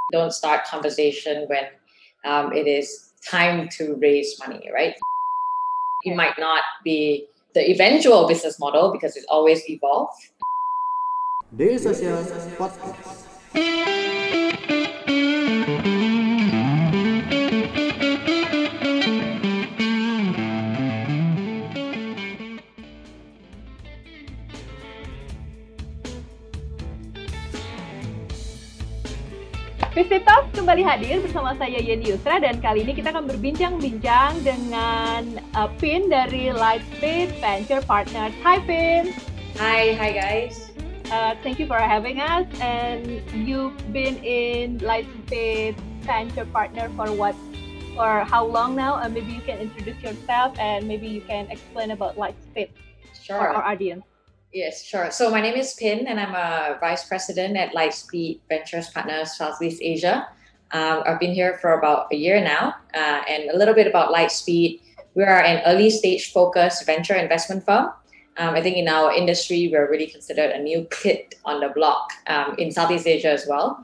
Don't start conversation when it is time to raise money, right? It might not be the eventual business model because it always evolves. Daily Social Podcast. Visit Talk kembali hadir bersama saya Yeni Yusra, dan kali ini kita akan berbincang-bincang dengan Pin dari Lightspeed Venture Partners. Hi Pin. Hi guys. Thank you for having us. And you've been in Lightspeed Venture Partner for how long now? Maybe you can introduce yourself and maybe you can explain about Lightspeed for our audience. Yes, sure. So my name is Pin, and I'm a vice president at Lightspeed Ventures Partners Southeast Asia. I've been here for about a year now, and a little bit about Lightspeed. We are an early stage focused venture investment firm. I think in our industry, we're really considered a new kid on the block in Southeast Asia as well.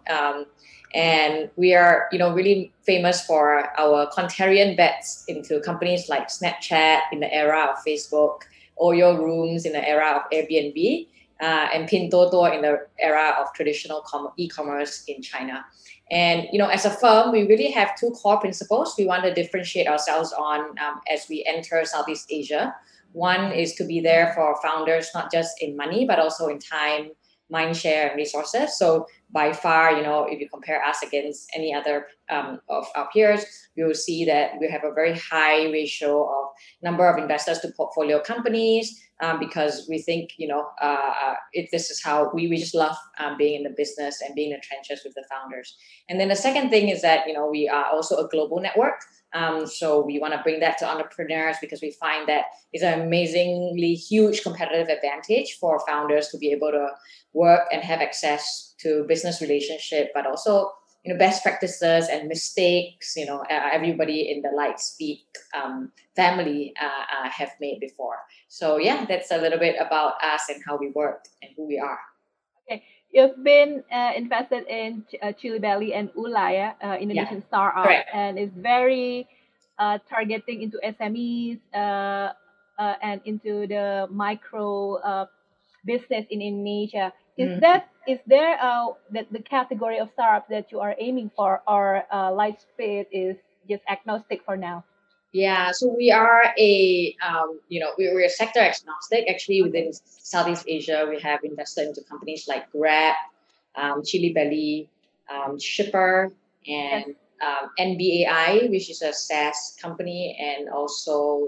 And we are, really famous for our contrarian bets into companies like Snapchat in the era of Facebook, Oyo Rooms in the era of Airbnb, and Pinduoduo in the era of traditional e-commerce in China. And, as a firm, we really have two core principles we want to differentiate ourselves on as we enter Southeast Asia. One is to be there for founders, not just in money, but also in time, mind share, and resources. So by far, if you compare us against any other of our peers, you will see that we have a very high ratio of number of investors to portfolio companies because we think, this is how we just love being in the business and being in the trenches with the founders. And then the second thing is that, we are also a global network. So we want to bring that to entrepreneurs because we find that it's an amazingly huge competitive advantage for founders to be able to work and have access to business relationship, but also, best practices and mistakes, everybody in the Lightspeed family have made before. So yeah, that's a little bit about us and how we work and who we are. Okay. You've been invested in Chili Belly and Ulaya, Indonesian startup, correct. And is very targeting into SMEs and into the micro business in Indonesia. Is there that the category of startup that you are aiming for, or Lightspeed is just agnostic for now? Yeah, so we are we're sector agnostic. Actually, within Southeast Asia, we have invested into companies like Grab, Chili Belly, Shipper, and NBAI, which is a SaaS company, and also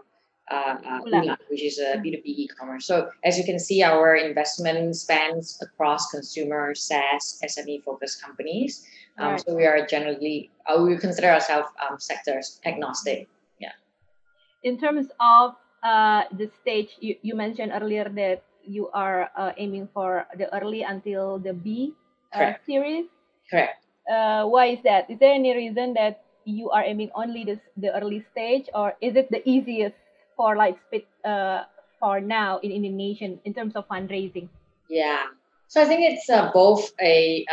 Ula, which is a B2B e-commerce. So as you can see, our investment spans across consumer, SaaS, SME-focused companies. Right. So we are generally, we consider ourselves sectors agnostic. Yeah. In terms of the stage, you mentioned earlier that you are aiming for the early until the B series. Correct. Why is that? Is there any reason that you are aiming only the early stage, or is it the easiest for Lightspeed for now in Indonesia in terms of fundraising? Yeah. So I think it's both a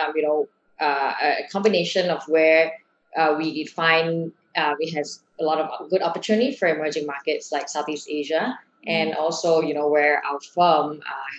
combination of where we find we have a lot of good opportunity for emerging markets like Southeast Asia, and also where our firm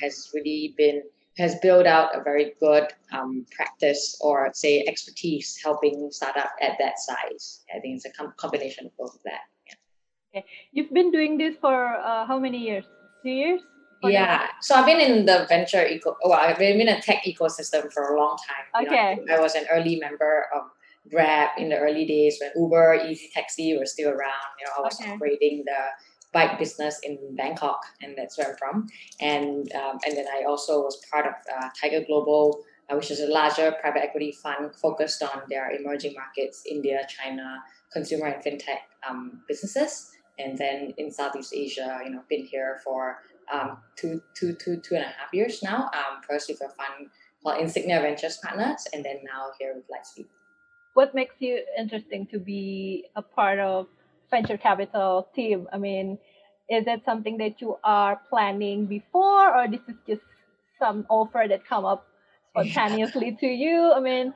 has built out a very good practice, or say expertise helping startup at that size. I think it's a combination of both of that. Yeah. Okay, you've been doing this for how many years? 2 years? Yeah, so I've been in the venture I've been in a tech ecosystem for a long time. Okay. I was an early member of Grab in the early days when Uber, Easy Taxi were still around. I was operating the bike business in Bangkok, and that's where I'm from. And then I also was part of Tiger Global, which is a larger private equity fund focused on their emerging markets, India, China, consumer and fintech businesses. And then in Southeast Asia, been here for 2.5 years now. First with a fund called Insignia Ventures Partners, and then now here with Lightspeed. What makes you interesting to be a part of venture capital team? I mean, is that something that you are planning before, or this is just some offer that come up spontaneously to you? I mean,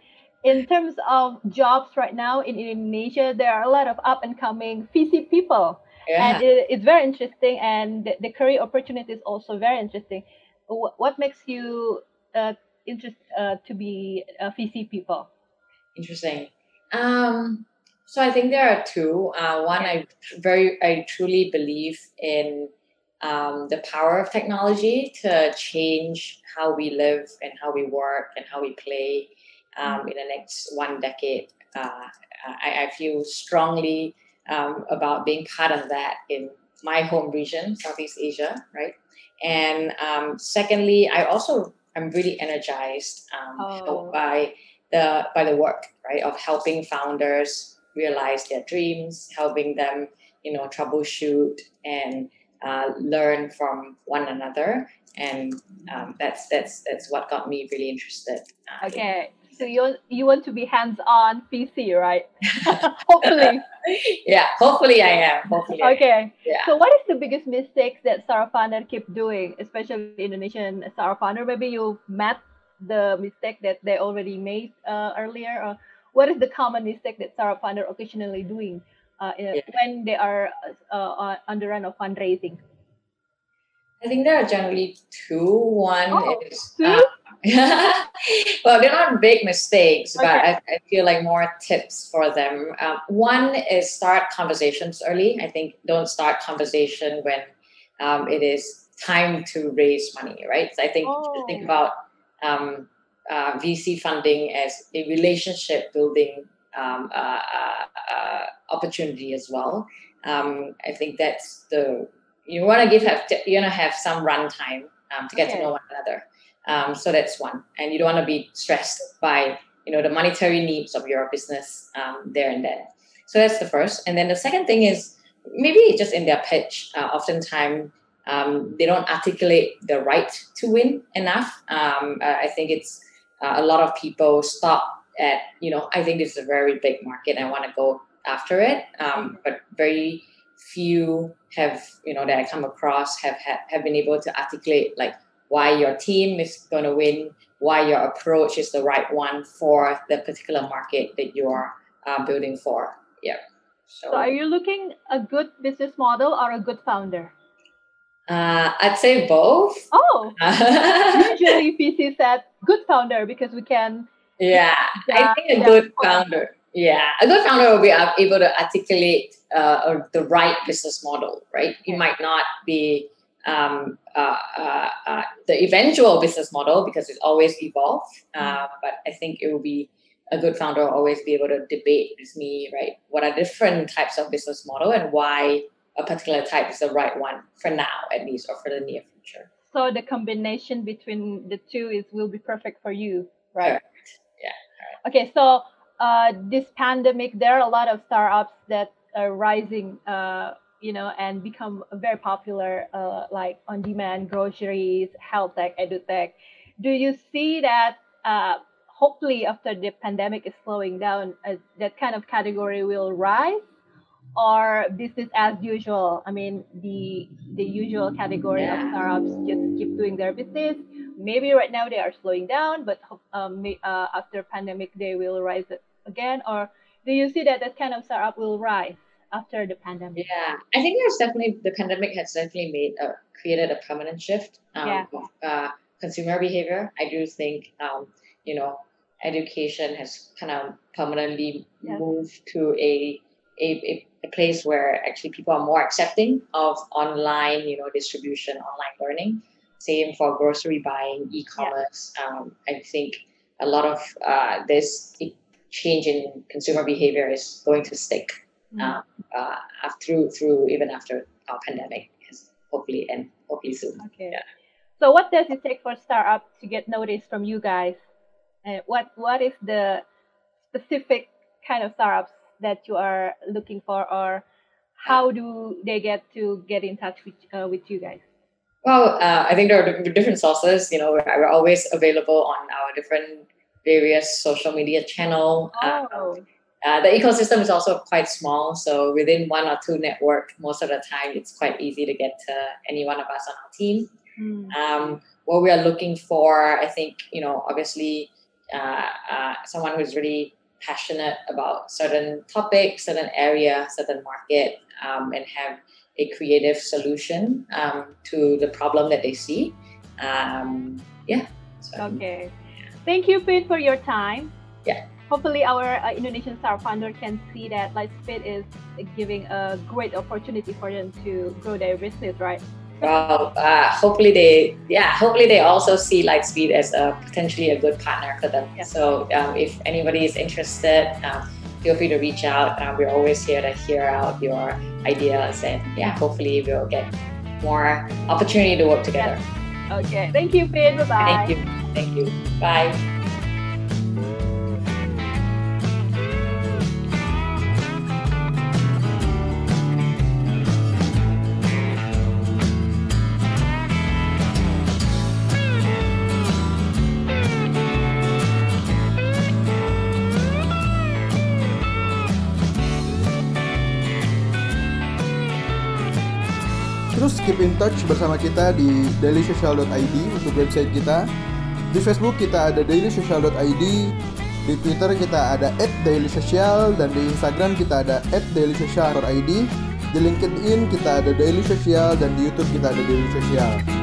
in terms of jobs right now in Indonesia, there are a lot of up and coming VC people, and Yeah. it's very interesting, and the career opportunity is also very interesting. What makes you to be a VC people? Interesting. So I think there are two. One, Yeah. I truly believe in the power of technology to change how we live and how we work and how we play in the next 1 decade. I feel strongly about being part of that in my home region, Southeast Asia, right? And secondly, I'm really energized Oh, by the work, right, of helping founders realize their dreams, helping them, troubleshoot and learn from one another, and that's what got me really interested. okay. So you want to be hands on VC, right? Hopefully. Yeah, hopefully I am. Hopefully I am. Okay. Yeah. So what is the biggest mistakes that startup founder keep doing, especially Indonesian startup founder? Maybe you met the mistake that they already made earlier. Or what is the common mistake that startup founder occasionally doing Yeah. when they are on the run of fundraising? I think there are generally two. One Oh, is, two? well, they're not big mistakes, but Okay. I feel like more tips for them. One is start conversations early. I think don't start conversation when it is time to raise money, right? So I think you should think Oh, about VC funding as a relationship building opportunity as well. I think that's you want to have some runtime to get to okay. know one another. So that's one, and you don't want to be stressed by the monetary needs of your business there and then. So that's the first, and then the second thing is maybe just in their pitch. Oftentimes they don't articulate the right to win enough. I think it's a lot of people stop at I think this is a very big market. I want to go after it, but very few have that I come across have been able to articulate like why your team is going to win, why your approach is the right one for the particular market that you are building for. Yeah. So are So you looking a good business model or a good founder? I'd say both. Oh, usually VC said good founder because we can Yeah, I judge think a them good for. founder. Yeah, a good founder will be able to articulate the right business model, right? You Okay. might not be the eventual business model because it's always evolve. But I think it will be a good founder will always be able to debate with me, right? What are different types of business model and why a particular type is the right one for now, at least, or for the near future. So the combination between the two is will be perfect for you, right? Correct. Yeah. Okay, so this pandemic, there are a lot of startups that are rising, and become very popular, like on-demand groceries, health tech, edutech. Do you see that? Hopefully, after the pandemic is slowing down, that kind of category will rise, or business as usual. I mean, the usual category of Yeah. startups just keep doing their business. Maybe right now they are slowing down, but after pandemic they will rise again. Or do you see that that kind of startup will rise after the pandemic? Yeah, I think the pandemic has definitely created a permanent shift Yeah, of consumer behavior. I do think you know education has kind of permanently yeah, moved to a place where actually people are more accepting of online distribution, online learning. Same for grocery buying, yeah. e-commerce. I think a lot of this change in consumer behavior is going to stick. Mm. Um, through even after our pandemic is hopefully soon. Okay. Yeah. So what does it take for startup to get noticed from you guys? What is the specific kind of startups that you are looking for, or how do they get in touch with you guys? Well, I think there are different sources. We're always available on our different various social media channel. Oh, The ecosystem is also quite small, so within one or two network, most of the time it's quite easy to get to any one of us on our team. mm, What we are looking for, I think, obviously someone who's really passionate about certain topic, certain area, certain market, and have a creative solution to the problem that they see. Okay. Thank you, Pin, for your time. Yeah. Hopefully our Indonesian startup founder can see that Lightspeed is giving a great opportunity for them to grow their business, right? Well, hopefully they also see Lightspeed as potentially a good partner for them. Yeah. So if anybody is interested, feel free to reach out. We're always here to hear out your ideas, and hopefully we'll get more opportunity to work together. Yeah. Okay. Thank you, Pin. Bye-bye. Thank you. Bye. Terus keep in touch bersama kita di dailysocial.id untuk website kita. Di Facebook kita ada dailysocial.id, di Twitter kita ada @dailysocial, dan di Instagram kita ada @dailysocial_id. Di LinkedIn kita ada Daily Social, dan di YouTube kita ada Daily Social.